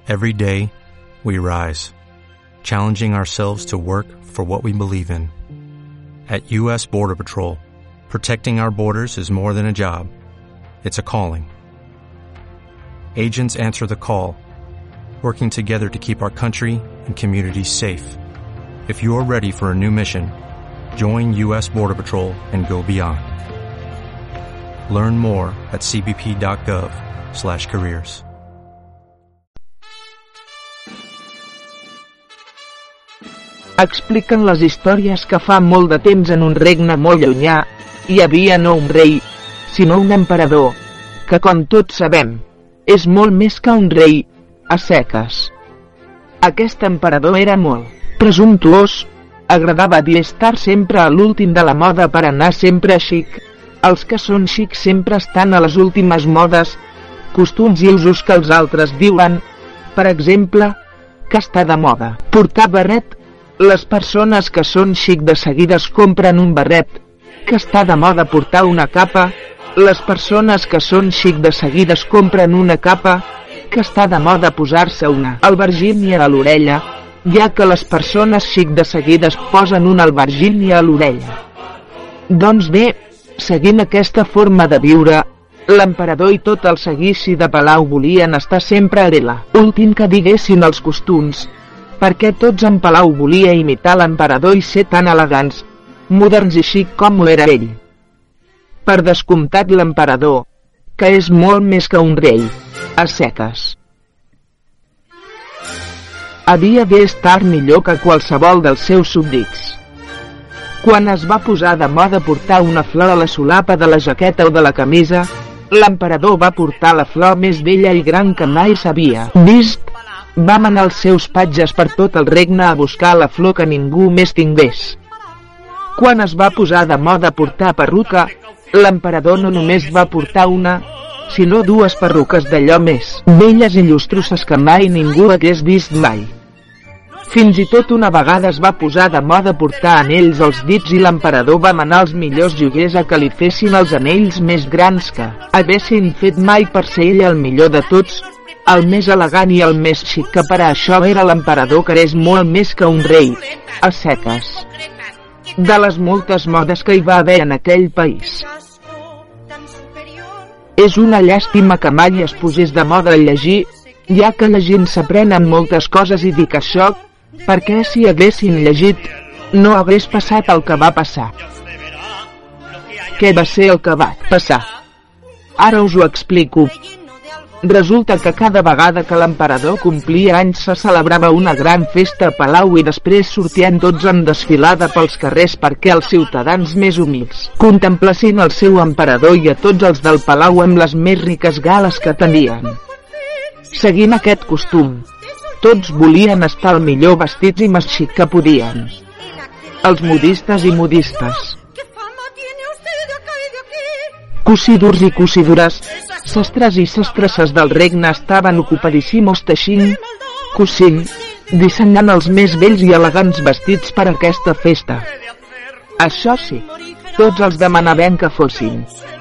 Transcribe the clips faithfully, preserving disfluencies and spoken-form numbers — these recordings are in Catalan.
Every day, we rise, challenging ourselves to work for what we believe in. At U S Border Patrol, protecting our borders is more than a job. It's a calling. Agents answer the call, working together to keep our country and communities safe. If you are ready for a new mission, join U S Border Patrol and go beyond. Learn more at c b p dot gov slash careers. Expliquen les històries que fa molt de temps en un regne molt llunyà hi havia no un rei, sinó un emperador, que com tots sabem, és molt més que un rei, a seques. Aquest emperador era molt presumptuós, agradava dir estar sempre a l'últim de la moda per anar sempre xic. Els que són xics sempre estan a les últimes modes, costums i usos que els altres diuen, per exemple, que està de moda portar barret. Les persones que són xic de seguida es compren un barret, que està de moda portar una capa. Les persones que són xic de seguida es compren una capa, que està de moda posar-se una albergínia a l'orella, ja que les persones xic de seguida es posen una albergínia a l'orella. Doncs bé, seguint aquesta forma de viure, l'emperador i tot el seguici de palau volien estar sempre a l'ela últim que diguessin els costums, perquè tots en palau volia imitar l'emperador i ser tan elegants, moderns i xic com ho era ell. Per descomptat l'emperador, que és molt més que un rei, a seques. Havia d'estar millor que qualsevol dels seus súbdits. Quan es va posar de moda portar una flor a la solapa de la jaqueta o de la camisa, l'emperador va portar la flor més bella i gran que mai s'havia vist. Va manar els seus patges per tot el regne a buscar la flor que ningú més tingués. Quan es va posar de moda portar perruca, l'emperador no només va portar una, sinó dues perruques d'allò més belles i llustroses que mai ningú hagués vist mai. Fins i tot una vegada es va posar de moda portar anells als dits i l'emperador va manar els millors joiers a que li fessin els anells més grans que haguessin fet mai per ser ell el millor de tots, el més elegant i el més xic, que per a això era l'emperador, que és molt més que un rei, a seques. De les moltes modes que hi va haver en aquell país. És una llàstima que mai es posés de moda a llegir, ja que llegint s'aprenen moltes coses i dic això, perquè si haguessin llegit, no hagués passat el que va passar. Què va ser el que va passar? Ara us ho explico. Resulta que cada vegada que l'emperador complia anys se celebrava una gran festa a palau i després sortien tots en desfilada pels carrers perquè els ciutadans més humils contemplessin el seu emperador i a tots els del palau amb les més riques gales que tenien. Seguint aquest costum, tots volien estar el millor vestits i més xic que podien. Els modistes i modistes, cosidors i cosidores, sastres i sastresses del regne estaven ocupadíssimos teixint, cosint, dissenyant els més bells i elegants vestits per a aquesta festa. Això sí, tots els demanaven que fossin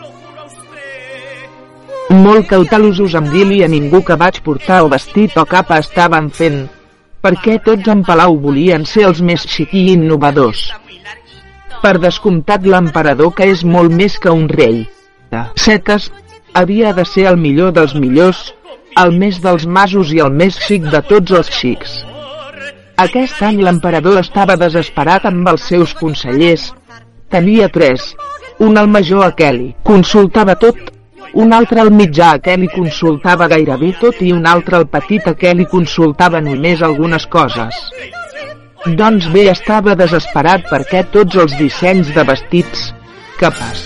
molt cautelosos amb dir-li a ningú que vaig portar o vestit o capa estaven fent, perquè tots en palau volien ser els més xic i innovadors. Per descomptat l'emperador, que és molt més que un rei, de seques, havia de ser el millor dels millors, el més dels masos i el més xic de tots els xics. Aquest any l'emperador estava desesperat amb els seus consellers. Tenia tres, un al major a què li consultava tot, un altre al mitjà a què li consultava gairebé tot i un altre al petit a què li consultava només algunes coses. Doncs bé, estava desesperat perquè tots els dissenys de vestits, capes,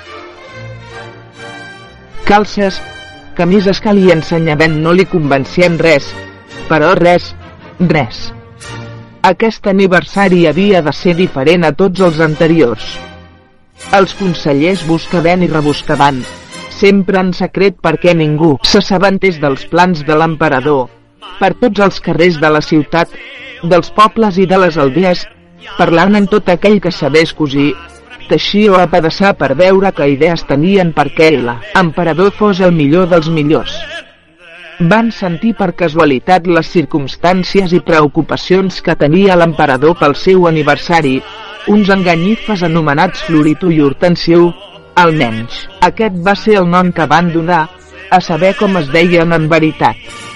calces, camises que li ensenyaven no li convencien res, però res, res. Aquest aniversari havia de ser diferent a tots els anteriors. Els consellers buscaven i rebuscaven, sempre en secret perquè ningú s'assabentés dels plans de l'emperador, per tots els carrers de la ciutat, dels pobles i de les aldees, parlant amb tot aquell que sabés cosir, teixir o apedaçar per veure que idees tenien perquè l'emperador fos el millor dels millors. van sentir per casualitat les circumstàncies i preocupacions que tenia l'emperador pel seu aniversari, uns enganyifes anomenats Floritu i Hortensiu, almenys, aquest va ser el nom que van donar, a saber com es deien en veritat.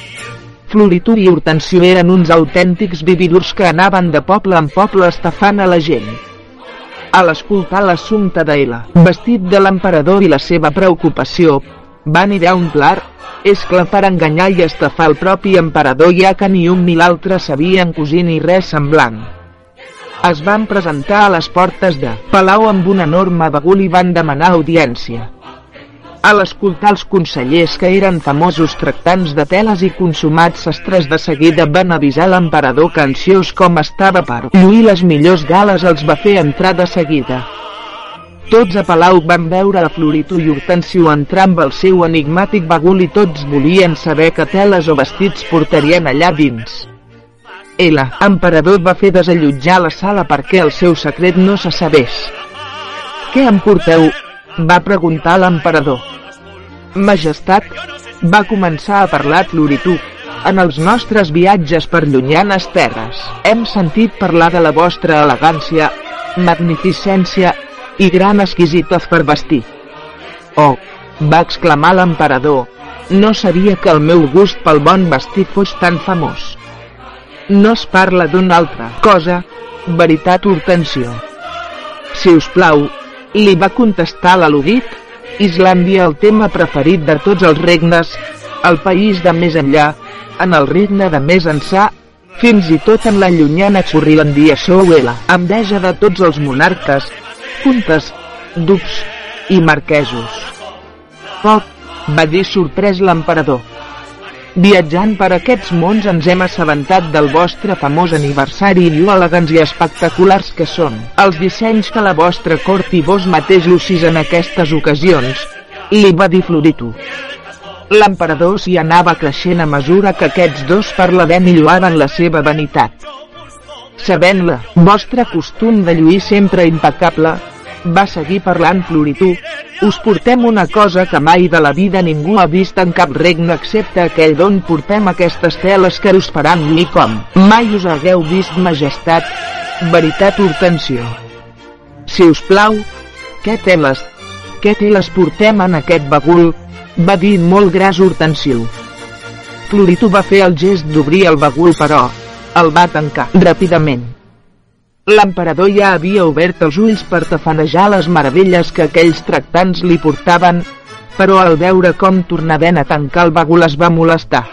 Floritu i Hortensiu eren uns autèntics vividors que anaven de poble en poble estafant a la gent. A l'escoltar l'assumpte d'ella, vestit de l'emperador i la seva preocupació, van idear un pla, és clar, per enganyar i estafar el propi emperador, ja que ni un ni l'altre sabien cosir ni res semblant. Es van presentar a les portes de Palau amb un enorme bagul i van demanar audiència. A l'escoltar els consellers, que eren famosos tractants de teles i consumats sastres, de seguida van avisar l'emperador que, ansiós com estava per lluir les millors gales, els va fer entrar de seguida. Tots a Palau van veure a Floritu i Hortensiu entrar amb el seu enigmàtic bagul i tots volien saber què teles o vestits portarien allà dins. El emperador va fer desallotjar la sala perquè el seu secret no se sabés. «Què em porteu?», va preguntar l'emperador. «Majestat», va començar a parlar Floritu, «en els nostres viatges per llunyanes terres hem sentit parlar de la vostra elegància, magnificència i gran exquisitat per vestir». «Oh», va exclamar l'emperador, «no sabia que el meu gust pel bon vestit fos tan famós». «No es parla d'una altra cosa, veritat, Hortensiu?» «Si us plau», li va contestar l'al·ludit, «Islàndia, el tema preferit de tots els regnes, el país de més enllà, en el regne de més ençà, fins i tot en la llunyana Currilàndia sou la enveja de tots els monarques, comtes, ducs i marquesos». «Poc», va dir sorprès l'emperador. «Viatjant per aquests mons ens hem assabentat del vostre famós aniversari i lo elegants i espectaculars que són els dissenys que la vostra cort i vos mateix lucís en aquestes ocasions», li va dir Floritu. L'emperador s'hi anava creixent a mesura que aquests dos parlaven i lloaven la seva vanitat. «Sabent-la, vostre costum de lluir sempre impecable», va seguir parlant Floritu, «us portem una cosa que mai de la vida ningú ha vist en cap regne excepte aquell d'on portem aquestes teles que us faran lluir com mai us hagueu vist, majestat, veritat, Hortensiu?» «Si us plau, què teles, què teles portem en aquest bagul?», va dir molt gras Hortensiu. Floritu va fer el gest d'obrir el bagul, però el va tancar ràpidament. L'emperador ja havia obert els ulls per tafanejar les meravelles que aquells tractants li portaven, però al veure com tornaven a tancar el bagul es va molestar.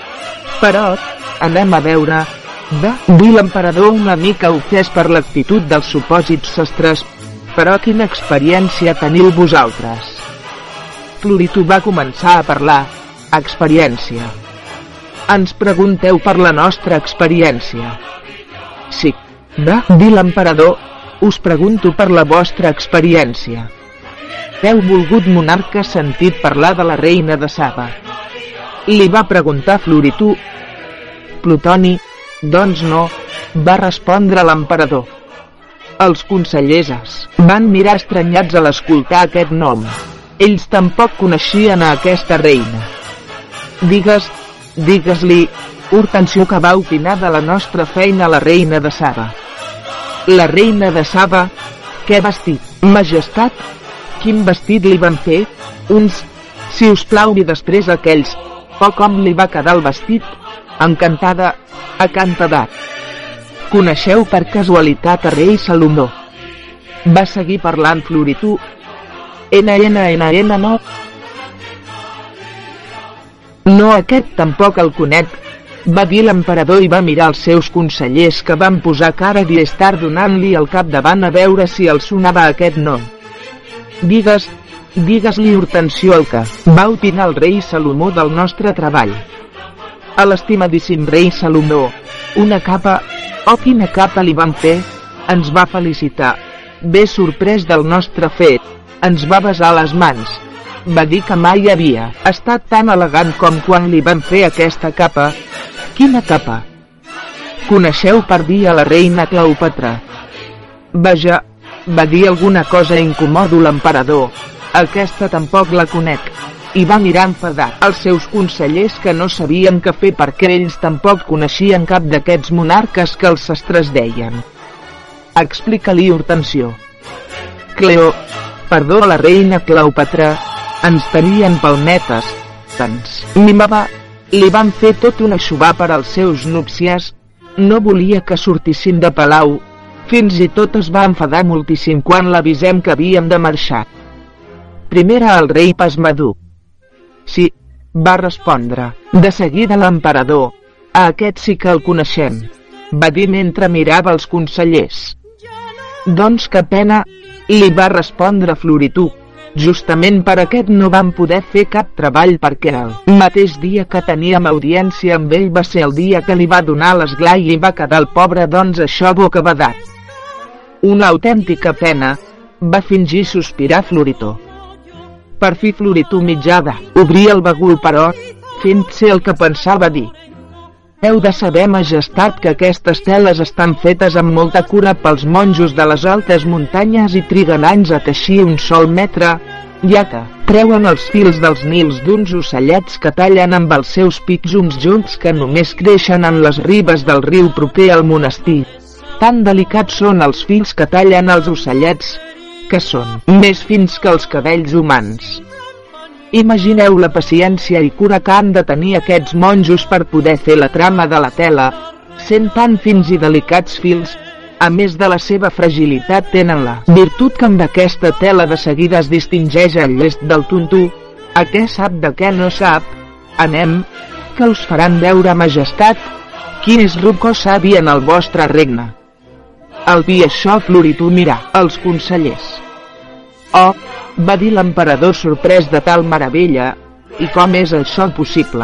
«Però, anem a veure», va dir l'emperador una mica ofès per l'actitud dels supòsits sastres, «però quina experiència teniu vosaltres?» Floritu va començar a parlar. «Experiència? Ens pregunteu per la nostra experiència?» «Sí», va dir l'emperador, «us pregunto per la vostra experiència. Heu volgut, monarca, sentit parlar de la reina de Saba?» li va preguntar Floritu. «Plutoni, doncs no», va respondre l'emperador. Els consellers es van mirar estranyats a l'escoltar aquest nom. Ells tampoc coneixien a aquesta reina. «Digues, digues-li, Hortensiu, que va opinar de la nostra feina a la reina de Saba». «La reina de Saba? Què vestit, majestat? Quin vestit li van fer? Uns, si us plau». I després aquells, oh, com li va quedar el vestit, encantada, acantadat. «Coneixeu per casualitat a rei Salomó?» va seguir parlant Floritu. «Ena, ena, ena, ena, no». «No, aquest tampoc el conec», va dir l'emperador i va mirar els seus consellers, que van posar cara i estar donant-li el cap davant a veure si el sonava aquest nom. «Digues, digues-li, Hortensiu, el que va opinar el rei Salomó del nostre treball». «A l'estimadíssim rei Salomó, una capa, oh, quina capa li van fer!» Ens va felicitar, bé sorprès del nostre fet, ens va besar les mans. Va dir que mai havia estat tan elegant com quan li van fer aquesta capa. «Quina capa?» «Coneixeu per dir a la reina Cleòpatra?» «Vaja», va dir alguna cosa incòmodo l'emperador, «aquesta tampoc la conec». i va mirar enfadat els seus consellers, que no sabien què fer perquè ells tampoc coneixien cap d'aquests monarques que els sastres deien. Explica-li, Hortensió. Cleo, perdó, la reina Cleòpatra, ens tenien palmetes, ens mimava, li van fer tot un aixovar per als seus núpcies, no volia que sortissin de palau, fins i tot es va enfadar moltíssim quan l'avisem que havíem de marxar. Primer era el rei pasmaduc. Sí, va respondre, de seguida l'emperador, a aquest sí que el coneixem, va dir mentre mirava els consellers. Doncs que pena, li va respondre Florituc, justament per aquest no vam poder fer cap treball perquè el mateix dia que teníem audiència amb ell va ser el dia que li va donar l'esglai i va quedar el pobre doncs això bocabadat. Una autèntica pena, va fingir sospirar Floritó. Per fi Floritó mitjada, obria el bagul però, fent ser el que pensava dir. Heu de saber, majestat, que aquestes teles estan fetes amb molta cura pels monjos de les altes muntanyes i triguen anys a teixir un sol metre, ja que treuen els fils dels nils d'uns ocellets que tallen amb els seus pics uns joncs que només creixen en les ribes del riu proper al monestir. Tan delicats són els fils que tallen els ocellets, que són més fins que els cabells humans. Imagineu la paciència i cura que han de tenir aquests monjos per poder fer la trama de la tela, sent tan fins i delicats fils, a més de la seva fragilitat tenen la virtut que amb aquesta tela de seguida es distingeix el llest del tonto. A què sap de què no sap? Anem, que us faran veure, majestat, quin és rucó savi en el vostre regne. Al dir això Floritó mirà els consellers. Oh, va dir l'emperador sorprès de tal meravella, i com és això possible?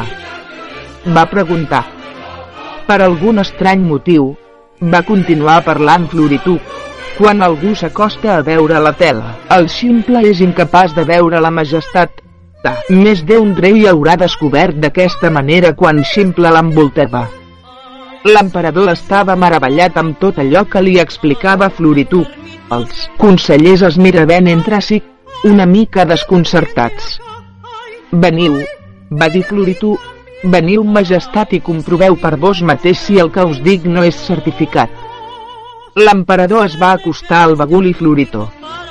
Va preguntar. Per algun estrany motiu, va continuar parlant Floritó, quan algú s'acosta a veure la tela, el ximple és incapaç de veure la majestat. Més d'un rei haurà descobert d'aquesta manera quan ximple l'envoltava. L'emperador estava meravellat amb tot allò que li explicava Floritó. Els consellers es miraven entre si, una mica desconcertats. Veniu, va dir Floritó, veniu, majestat, i comproveu per vos mateix si el que us dic no és certificat. L'emperador es va acostar al bagul i Floritó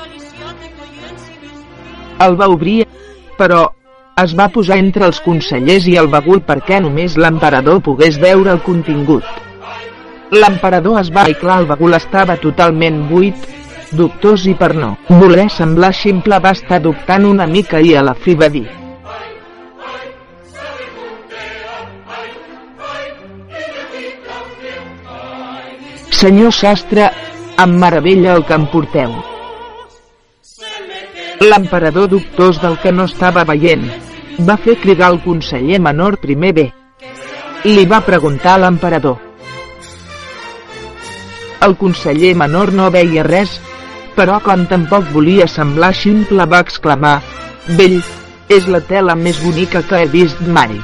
el va obrir, però es va posar entre els consellers i el bagul perquè només l'emperador pogués veure el contingut. L'emperador es va i clar, el bagul estava totalment buit, dubtós, i per no voler semblar ximple va estar dubtant una mica i a la fi va dir: Senyor sastre, em meravella el que em porteu. L'emperador, dubtós del que no estava veient, va fer cridar el conseller menor primer bé. Li va preguntar a l'emperador. El conseller menor no veia res, però com tampoc volia semblar ximple va exclamar: Vell, és la tela més bonica que he vist mai.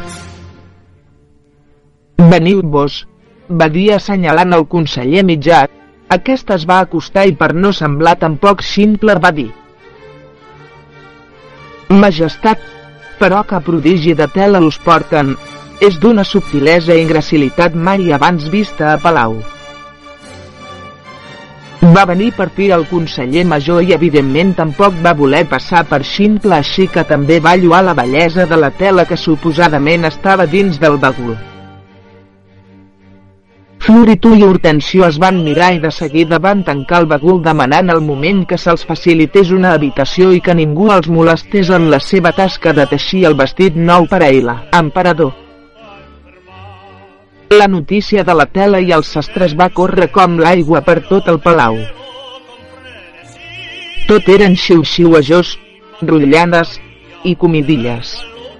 Veniu-vos, va dir assenyalant el conseller mitjà. Aquest es va acostar i per no semblar tampoc ximple va dir: Majestat, però que prodigi de tela us porten, és d'una subtilesa i gracilitat mai abans vista a palau. Va venir per fi el conseller major i evidentment tampoc va voler passar per ximple, així que també va lloar la bellesa de la tela que suposadament estava dins del bagul. Floritó i Hortensió es van mirar i de seguida van tancar el bagul demanant al moment que se'ls facilités una habitació i que ningú els molestés en la seva tasca de teixir el vestit nou per a ell, emperador. La notícia de la tela i els sastres va córrer com l'aigua per tot el palau. Tot eren xiu-xiuejors, rotllades i comidilles.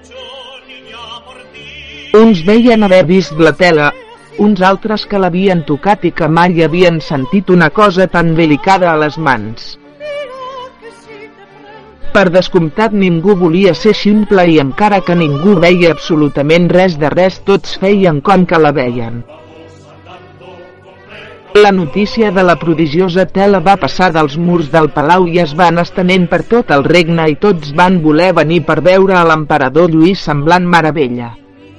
Uns veien haver vist la tela, uns altres que l'havien tocat i que mai havien sentit una cosa tan delicada a les mans. Per descomptat ningú volia ser ximple i encara que ningú veia absolutament res de res tots feien com que la veien. La notícia de la prodigiosa tela va passar dels murs del palau i es va anar estenent per tot el regne i tots van voler venir per veure a l'emperador Lluís semblant meravella.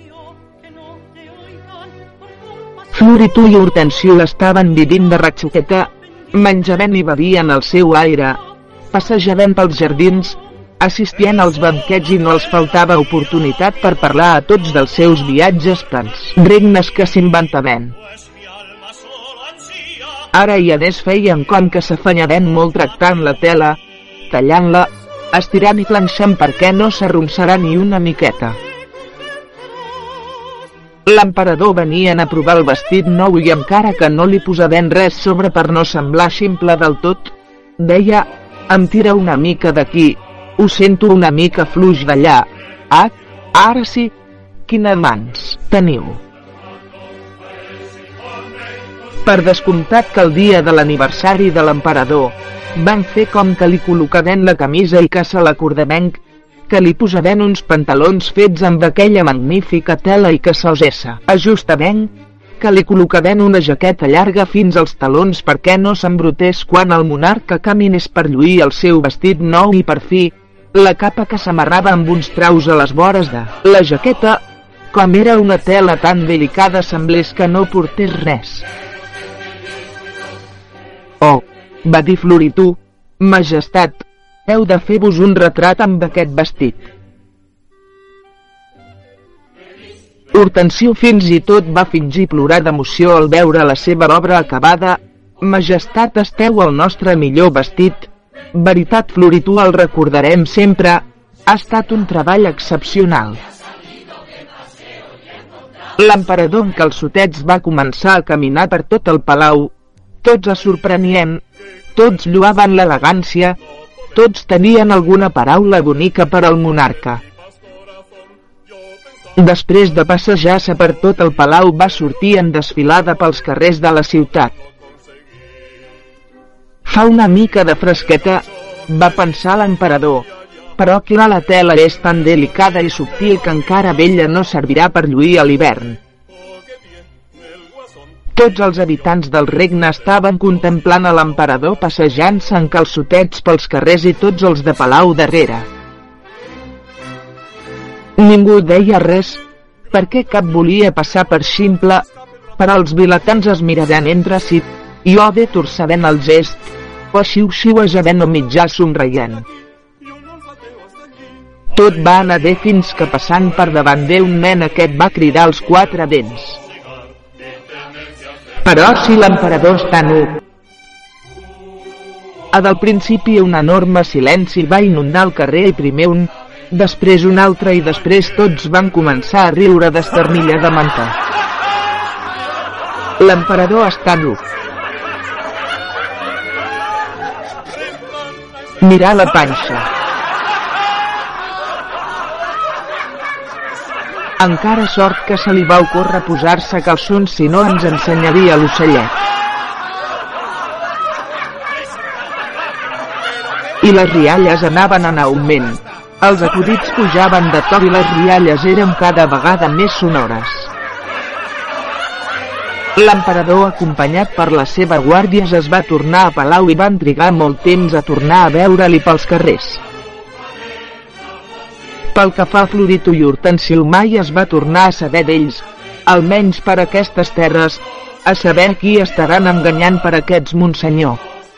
Floritú i Hortensiu estaven vivint de ratxoqueta, menjaven i bevien el seu aire, passejaven pels jardins, assistien als banquets i no els faltava oportunitat per parlar a tots dels seus viatges pels regnes que s'inventaven. Ara i a més feien com que s'afanyaven molt tractant la tela, tallant-la, estirant i planxant perquè no s'arronsarà ni una miqueta. L'emperador venien a provar el vestit nou i encara que no li posaven res sobre per no semblar ximple del tot, deia, em tira una mica d'aquí, ho sento una mica fluix d'allà, ah, ara sí, quines mans teniu. Per descomptat que el dia de l'aniversari de l'emperador, van fer com que li col·locaven la camisa i que se l'acordaven, que li posaven uns pantalons fets amb aquella magnífica tela i que se'ls ajustaven, que li col·locaven una jaqueta llarga fins als talons perquè no s'embrutés quan el monarca caminés per lluir el seu vestit nou i per fi, la capa que s'amarrava amb uns traus a les vores de la jaqueta, com era una tela tan delicada semblés que no portés res. Oh, va dir Floritú, majestat, heu de fer-vos un retrat amb aquest vestit. Hortensiu fins i tot va fingir plorar d'emoció al veure la seva obra acabada. Majestat, esteu el nostre millor vestit. Veritat, Floritú, el recordarem sempre. Ha estat un treball excepcional. L'emperador en calçotets va començar a caminar per tot el palau. Tots es sorprenien, tots lloaven l'elegància, tots tenien alguna paraula bonica per al monarca. Després de passejar-se per tot el palau va sortir en desfilada pels carrers de la ciutat. Fa una mica de fresqueta, va pensar l'emperador, però clar, la tela és tan delicada i subtil que encara vella no servirà per lluir a l'hivern. Tots els habitants del regne estaven contemplant a l'emperador passejant-se en calçotets pels carrers i tots els de palau darrere. Ningú deia res, perquè cap volia passar per ximple, però els vilatans es miraven entre si, i o bé torçaven el gest, o xiu-xiuejaven o mitjà somreient. Tot va anar bé fins que passant per davant d'un nen aquest va cridar als quatre vents. Però si l'emperador està nu. A del principi un enorme silenci va inundar el carrer i primer un, després un altre i després tots van començar a riure d'esternilladament. L'emperador està nu. Mirar la panxa. Encara sort que se li va ocórrer posar-se calçons, si no ens ensenyaria l'ocellet. I les rialles anaven en augment. Els acudits pujaven de to i les rialles eren cada vegada més sonores. L'emperador, acompanyat per les seves guàrdies, es va tornar a palau i van trigar molt temps a tornar a veure-li pels carrers. Pel que fa a Floritú i Hortensiu, mai es va tornar a saber d'ells, almenys per aquestes terres, a saber qui estaran enganyant per aquests monsenyor.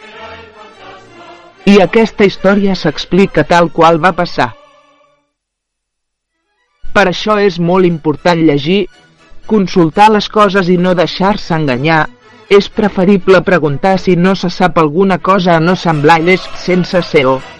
I aquesta història s'explica tal qual va passar. Per això és molt important llegir, consultar les coses i no deixar-se enganyar. És preferible preguntar si no se sap alguna cosa a no semblar llest sense ser-ho.